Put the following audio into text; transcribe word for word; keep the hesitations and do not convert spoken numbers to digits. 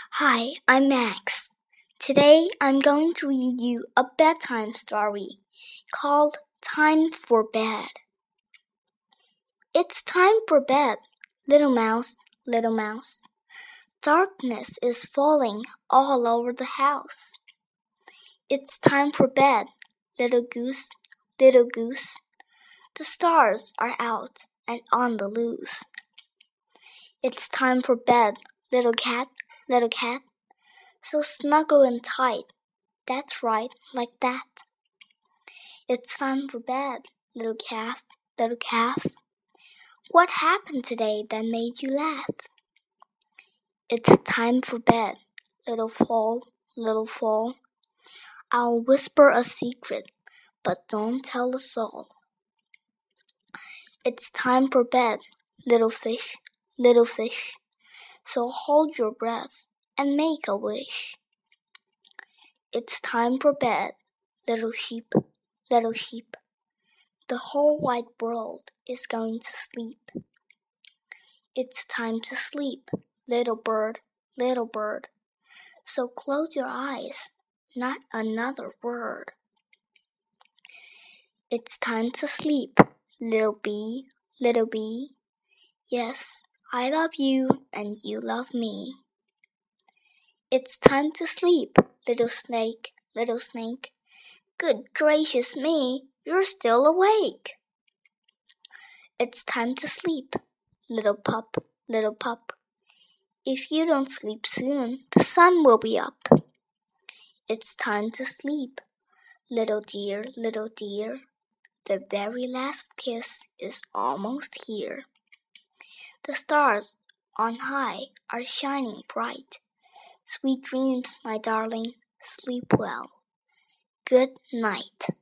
Hi, I'm Max. Today I'm going to read you a bedtime story called Time for Bed. It's time for bed, little mouse, little mouse. Darkness is falling all over the house. It's time for bed, little goose, little goose. The stars are out and on the loose. It's time for bed, little cat, little cat. So snuggle and tight, that's right, like that. It's time for bed, little calf, little calf. What happened today that made you laugh? It's time for bed, little foal, little foal. I'll whisper a secret, but don't tell a soul. It's time for bed, little fish, little fish. So hold your breath and make a wish. It's time for bed, little sheep, little sheep. The whole wide world is going to sleep. It's time to sleep, little bird, little bird. So close your eyes, not another word. It's time to sleep, little bee, little bee. Yes, I love you and you love me. It's time to sleep, little snake, little snake. Good gracious me, you're still awake. It's time to sleep, little pup, little pup. If you don't sleep soon, the sun will be up. It's time to sleep, little dear, little dear. The very last kiss is almost here. The stars on high are shining bright. Sweet dreams, my darling, sleep well. Good night.